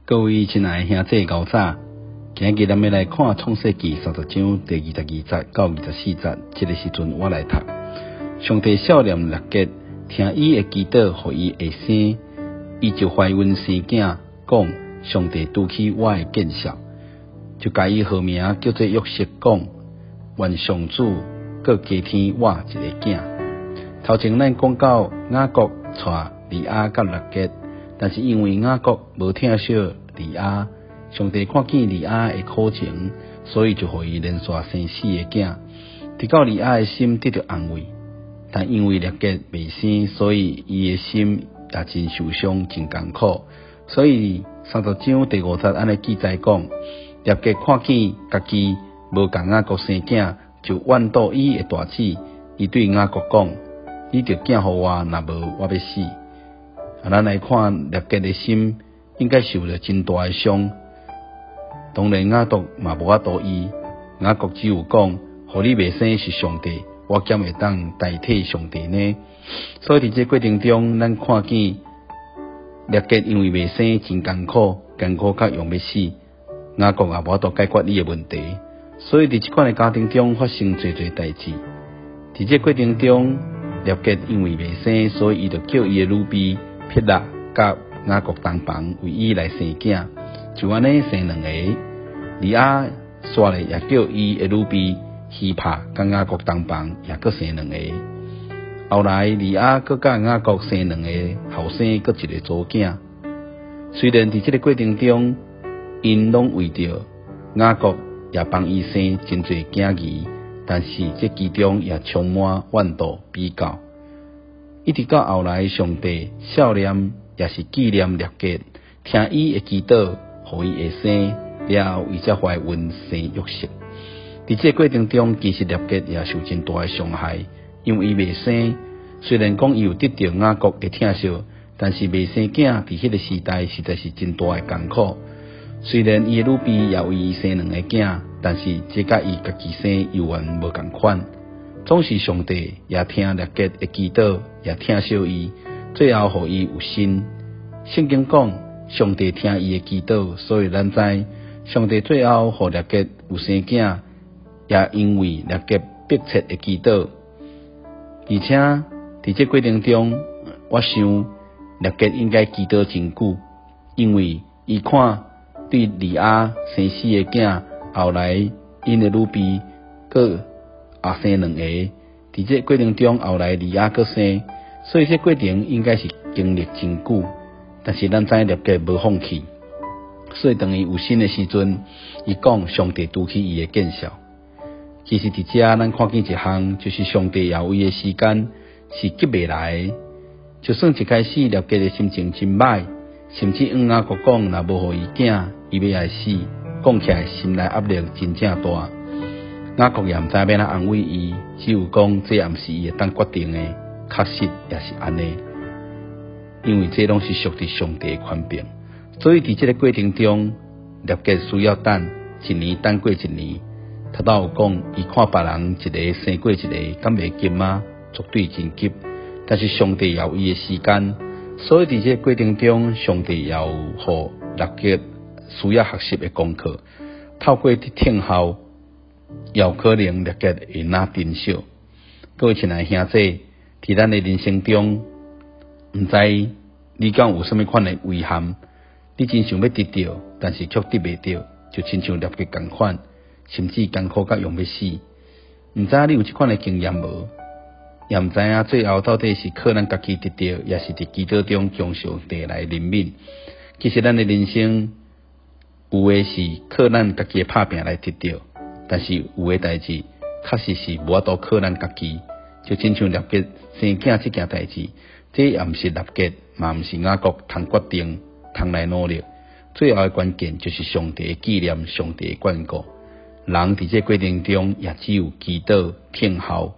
各位亲爱的兄弟高早，今日咱们来看《创世纪》30章第22节到24节。这个时阵我来读。上帝少年列结，听伊的祈祷，互伊会生，伊就怀孕生囝，讲上帝拄起我的见笑，就甲伊号名叫做约瑟，讲愿上主搁加添我一个囝。头前咱讲到雅各带利亚甲列结。但是因为雅各无疼惜利亚，上帝看见利亚的苦情，所以就互伊连续生4个囝，直到利亚的心得到安慰。但因为列结未生，所以伊的心也真受伤，真艰苦。所以30章第5节安尼记载讲，列结看见家己无共雅各生囝，就怨妒伊的大姊。伊对雅各讲：你着囝互我，若无我要死。咱来看列结的心，应该受了真大的伤。当然雅各嘛无法度医，雅各只有讲：互你未生是上帝，我怎会当代替上帝呢？所以伫这过程中，咱看见列结因为未生真艰苦甲用要死，雅各也无法度解决你的问题。所以伫这款的家庭中发生侪代志。伫这过程中，列结因为未生，所以伊就叫伊的女婢撇拉甲雅各同房，为伊来生囝，就安尼生2个。利亚煞咧也叫伊的女婢希帕甲雅各同房，也阁生2个。后来利亚阁甲雅各生2个后生，阁一个祖囝。虽然伫这个过程中，因拢为着雅各也帮伊生真侪囝儿，但是这其中也充满怨妒比较。一直到后来，上帝少年也是纪念列结，听伊的祈祷，互伊会生，了后伊才怀孕生约瑟。伫这过程中，其实列结也受真大的伤害，因为伊未生。虽然讲伊有得到雅各的疼惜，但是未生囝伫迄个时代实在是真大的艰苦。虽然伊的女婢也为伊生2个囝，但是这甲伊家己生又完无共款。总是上帝也听列结的祈祷，也疼惜伊，最后互伊有心。圣经讲，上帝听伊的祈祷，所以咱知上帝最后互列结有生囝，也因为列结迫切的祈祷。而且伫这过程中，我想列结应该祈祷真久，因为伊看对利亚生4个囝，后来因的女婢佫也生2个，伫这过程中后来利亚佫生，所以这过程应该是经历真久。但是咱知列结无放弃，所以当伊有心的时阵，伊讲上帝拄起伊的见笑。其实伫这咱看见一项，就是上帝也为的时间是急未来的。就算一开始列结的心情真歹，甚至雅各讲若无互伊囝，伊要来死，讲起来心内压力真正大。雅各也毋知要哪安慰伊，只有讲这也毋是伊会当决定的，确实也是安尼。因为这拢是属于上帝的权柄，所以伫这个过程中，列结需要等1年，等过1年。头头有讲，伊看别人一个生过一个，敢袂急吗？绝对真急。但是上帝也有伊的时间，所以伫这个过程中，上帝也有互列结需要学习的功课。透过听候，也有可能列结会拿珍惜。各位亲爱的兄弟，伫咱的人生中，毋知你敢有甚物款的遗憾？你真想要得到，但是却得袂到，就亲像列结同款，甚至艰苦甲用要死。毋知你有这款的经验无？也毋知影最后到底是靠咱家己得到，也是伫祈祷中将上帝来怜悯。其实咱的人生有的是靠咱家己的拍拼来得到，但是有的代志确实是无法度靠咱家己。就亲像列结生囝这件代志，这也毋是列结，嘛毋是雅各通决定，通来努力。最后的关键就是上帝的纪念，上帝的眷顾。人伫这过程中也只有祈祷、听候。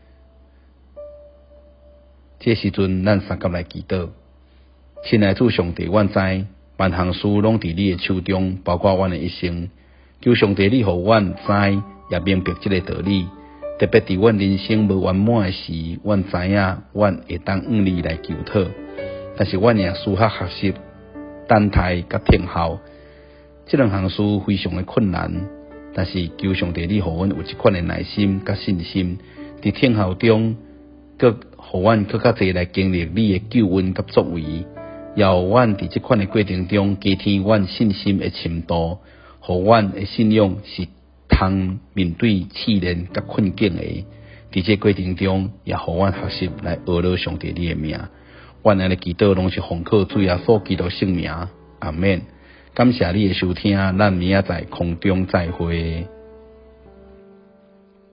这时阵，咱三甲来祈祷。亲爱的主上帝，阮知万项事拢伫你的手中，包括阮的一生。求上帝你互阮知，也明白这个道理。特别伫阮人生无圆满的时，阮知影阮会当向你来求讨，但是阮也需要学习等待甲听候，这两项事非常的困难，但是求上帝你互阮有这款的耐心甲信心，伫听候中，佮互阮更较侪来经历你的救恩甲作为，也互阮伫这款的过程中加添阮信心的深度，互阮的信仰是通面对试炼甲困境的。伫这过程中，也互阮学习来学了上帝你的名。阮安尼祈祷拢是奉靠主耶稣基督圣名，阿免。感谢你的收听，咱明仔载空中再会。